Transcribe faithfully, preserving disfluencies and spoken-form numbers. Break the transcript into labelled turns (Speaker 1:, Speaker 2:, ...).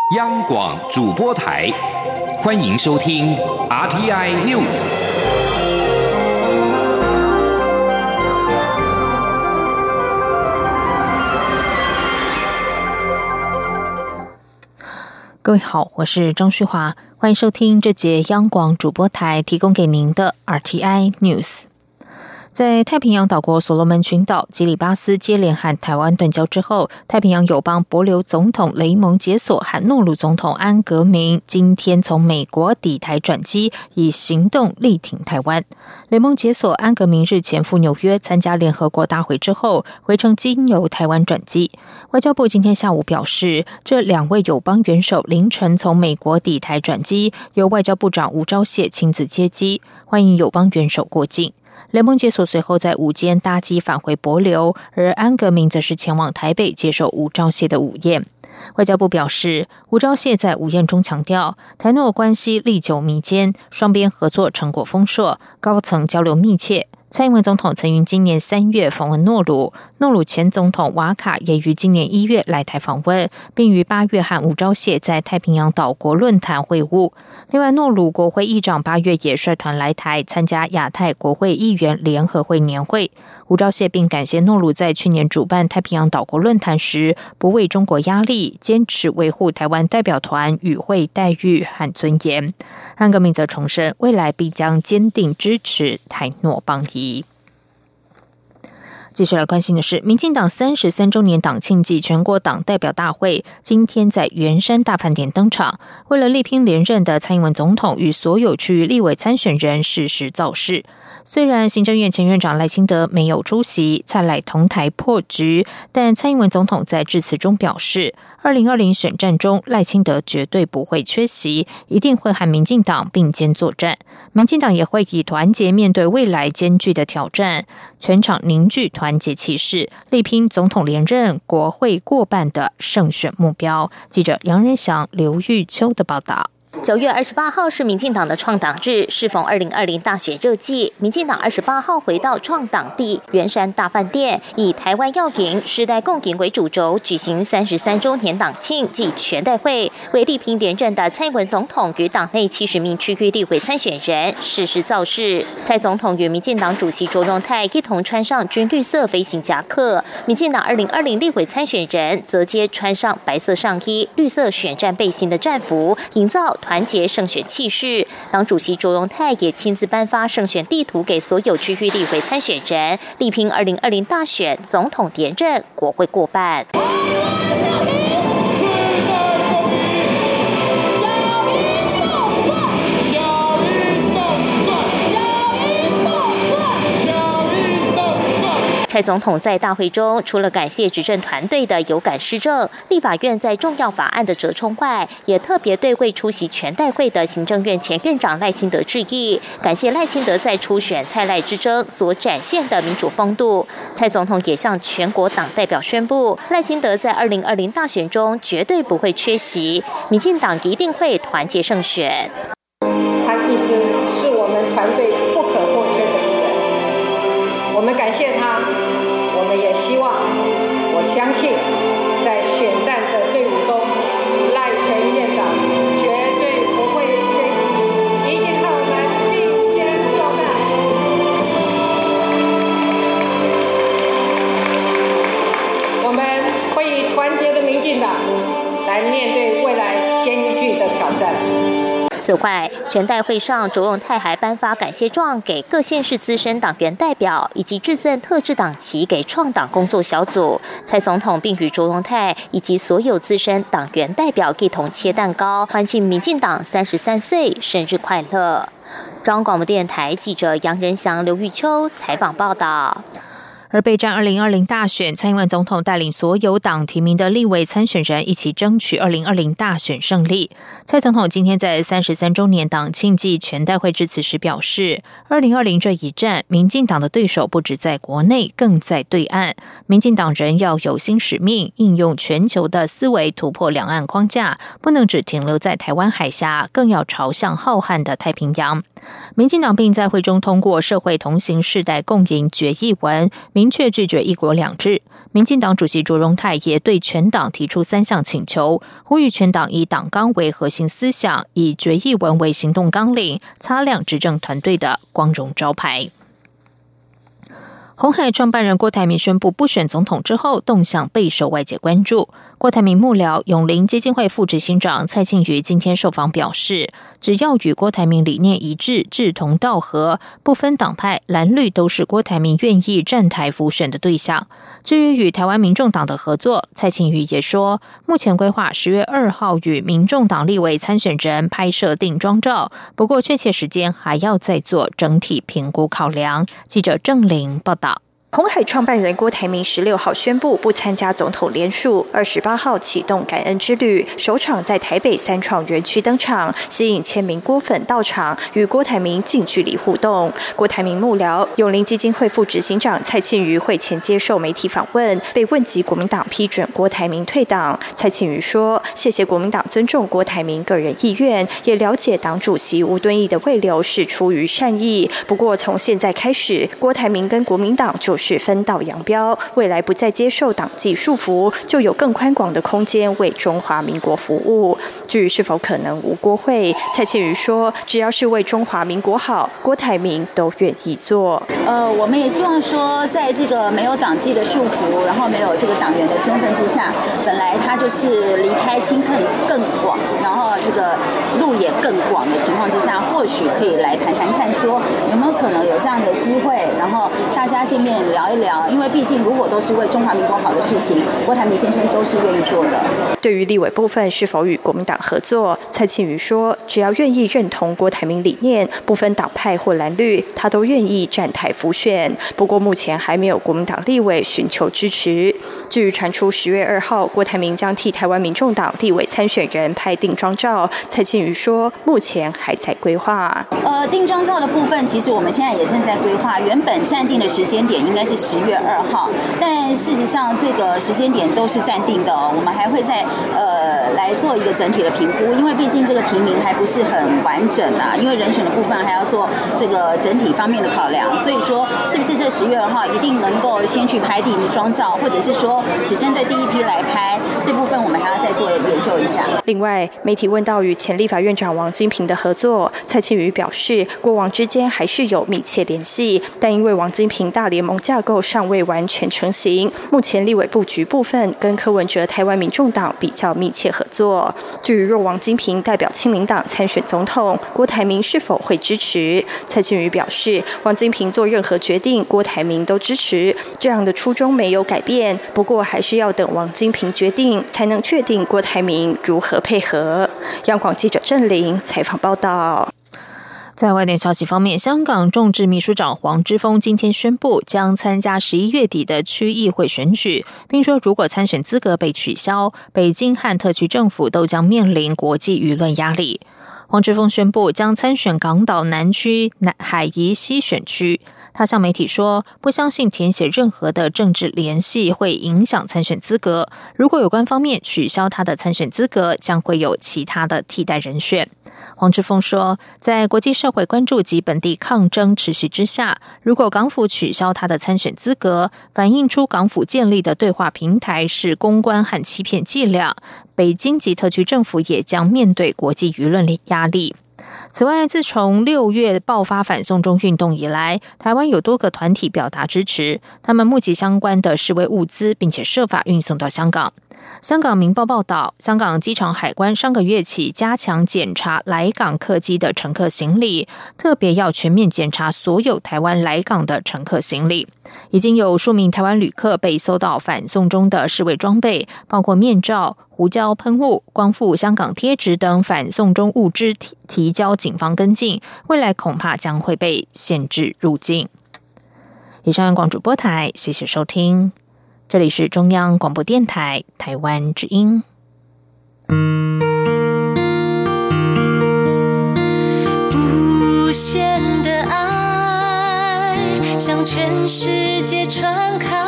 Speaker 1: 央广主播台，欢迎收听 R T I News。
Speaker 2: 各位好，我是张旭华，欢迎收听这节央广主播台提供给您的 R T I News。在太平洋岛国所罗门群岛，基里巴斯接连和台湾断交之后，太平洋友邦帛琉总统雷蒙杰索和诺鲁总统安格明今天从美国抵台转机，以行动力挺台湾。雷蒙杰索、安格明日前赴纽约参加联合国大会之后，回程经由台湾转机。外交部今天下午表示，这两位友邦元首凌晨从美国抵台转机，由外交部长吴钊燮亲自接机，欢迎友邦元首过境。雷蒙杰索随后在午间搭机返回帛琉，而安格明则是前往台北接受吴钊燮的午宴。外交部表示，吴钊燮在午宴中强调，台诺关系历久弥坚，双边合作成果丰硕，高层交流密切。蔡英文总统曾于今年三月访问诺鲁，诺鲁前总统瓦卡也于今年一月来台访问，并于八月和吴钊燮在太平洋岛国论坛会晤。另外，诺鲁国会议长八月也率团来台参加亚太国会议员联合会年会。吴钊燮并感谢诺鲁在去年主办太平洋岛国论坛时，不为中国压力，坚持维护台湾代表团与会待遇和尊严。安格明则重申，未来必将坚定支持台诺邦谊。继续来关心的是，民进党三十三周年党庆暨全国党代表大会今天在圆山大饭店登场。为了力拼连任的蔡英文总统与所有区域立委参选人适时造势。虽然行政院前院长赖清德没有出席，蔡赖同台破局，但蔡英文总统在致辞中表示，二零二零选战中赖清德绝对不会缺席，一定会和民进党并肩作战。民进党也会以团结面对未来艰巨的挑战，全场凝聚团结气势，力拼总统连任、国会过半的胜选目标。记者杨仁祥、刘玉秋的报道。
Speaker 3: 九月二十八号是民进党的创党日，适逢二零二零大选热季，民进党二十八号回到创党地圆山大饭店，以台湾要赢、时代共赢为主轴，举行三十三周年党庆暨全代会，为力拼连任的蔡英文总统与党内七十名区域立委参选人适时造势。蔡总统与民进党主席卓荣泰一同穿上军绿色飞行夹克，民进党二零二零立委参选人则皆穿上白色上衣、绿色选战背心的战服，营造团结胜选气势。党主席卓荣泰也亲自颁发胜选地图给所有区域立委参选人，力拼二零二零大选总统连任、国会过半。蔡总统在大会中除了感谢执政团队的有感施政、立法院在重要法案的折冲外，也特别对未出席全代会的行政院前院长赖清德致意，感谢赖清德在初选蔡赖之争所展现的民主风度。蔡总统也向全国党代表宣布，赖清德在二零二零大选中绝对不会缺席，民进党一定会团结胜选。
Speaker 4: 他一直是我们团队不可或缺的一员，我们感谢他。我们也希望，我相信，在选战的队伍中，赖前院长绝对不会缺席，一定和我们并肩作战。我们会以团结的民进党来面对未来艰巨的挑战。
Speaker 3: 此外，全代会上，卓荣泰还颁发感谢状给各县市资深党员代表，以及致赠特制党旗给创党工作小组。蔡总统并与卓荣泰以及所有资深党员代表一同切蛋糕，欢庆民进党三十三岁生日快乐。中央广播电台记者杨仁祥、刘玉秋采访报道。
Speaker 2: 而备战二零二零大选，蔡英文总统带领所有党提名的立委参选人一起争取二零二零大选胜利。蔡总统今天在三十三周年党庆暨全代会致辞时表示，二零二零这一战，民进党的对手不只在国内，更在对岸。民进党人要有新使命，应用全球的思维突破两岸框架，不能只停留在台湾海峡，更要朝向浩瀚的太平洋。民进党并在会中通过社会同行世代共赢决议文， 明确拒绝一国两制。民进党主席卓荣泰也对全党提出三项请求，呼吁全党以党纲为核心思想，以决议文为行动纲领，擦亮执政团队的光荣招牌。鸿海创办人郭台铭宣布不选总统之后，动向备受外界关注。郭台铭幕僚永林基金会副执行长蔡庆瑜今天受访表示，只要与郭台铭理念一致、志同道合，不分党派蓝绿都是郭台铭愿意站台辅选的对象。至于与台湾民众党的合作，蔡庆瑜也说，目前规划十月二号与民众党立委参选人拍摄定妆照，不过确切时间还要再做整体评估考量。记者郑玲报道。
Speaker 5: 鸿海创办人郭台铭十六号宣布不参加总统联署，二十八号启动感恩之旅，首场在台北三创园区登场，吸引千名郭粉到场，与郭台铭近距离互动。郭台铭幕僚永林基金会副执行长蔡庆瑜会前接受媒体访问，被问及国民党批准郭台铭退党，蔡庆瑜说：“谢谢国民党尊重郭台铭个人意愿，也了解党主席吴敦义的慰留是出于善意。不过从现在开始，郭台铭跟国民党就。”是分道扬镳，未来不再接受党纪束缚，就有更宽广的空间为中华民国服务。至于是否可能无国会，蔡庆瑜说，只要是为中华民国好，郭台铭都愿意做。
Speaker 6: 呃，我们也希望说，在这个没有党纪的束缚，然后没有这个党员的身份之下，本来他就是离开心更更广，然后这个路也更广的情况之下，或许可以来谈谈看，说有没有可能有这样的机会，然后大家见面聊一聊，因为毕竟如果都是为中华民国好的事情，郭台铭先生都是愿意做的。
Speaker 5: 对于立委部分是否与国民党合作，蔡庆瑜说，只要愿意认同郭台铭理念，不分党派或蓝绿，他都愿意站台辅选。不过目前还没有国民党立委寻求支持。至于传出十月二号郭台铭将替台湾民众党立委参选人拍定妆照，蔡庆瑜说，目前还在规划。
Speaker 6: 呃，定妆照的部分，其实我们现在也正在规划，原本暂定的时间点应该是十月二号，但事实上这个时间点都是暂定的哦。我们还会再呃来做一个整体的评估，因为毕竟这个提名还不是很完整啊，因为人选的部分还要做这个整体方面的考量。所以说，是不是这十月二号一定能够先去拍定妆照，或者是说只针对第一批来拍，这部分我们还要再做研究一下。
Speaker 5: 另外，媒体问到与前立法院长王金平的合作，蔡庆瑜表示，过往之间还是有密切联系，但因为王金平大联盟架构尚未完全成型，目前立委布局部分跟柯文哲台湾民众党比较密切合作。至于若王金平代表亲民党参选总统，郭台铭是否会支持？蔡庆瑜表示，王金平做任何决定，郭台铭都支持，这样的初衷没有改变。不过还是要等王金平决定，才能确定郭台铭如何配合。央广记者郑玲采访报道。
Speaker 2: 在外电消息方面，香港众志秘书长黄之锋今天宣布将参加十一月底的区议会选举，并说如果参选资格被取消，北京和特区政府都将面临国际舆论压力。黄之锋宣布将参选港岛南区海怡西选区。他向媒体说，不相信填写任何的政治联系会影响参选资格，如果有关方面取消他的参选资格，将会有其他的替代人选。黄之锋说，在国际社会关注及本地抗争持续之下，如果港府取消他的参选资格，反映出港府建立的对话平台是公关和欺骗伎俩，北京及特区政府也将面对国际舆论压力。此外，自从六月爆发反送中运动以来，台湾有多个团体表达支持，他们募集相关的示威物资，并且设法运送到香港。香港明报报道，香港机场海关上个月起加强检查来港客机的乘客行李，特别要全面检查所有台湾来港的乘客行李。已经有数名台湾旅客被搜到反送中的示威装备，包括面罩、胡椒喷雾、光复香港贴纸等反送中物资提提交警方跟进，未来恐怕将会被限制入境。以上央广主播台，谢谢收听，这里是中央广播电台台湾之音。
Speaker 7: 无限的爱向全世界传开。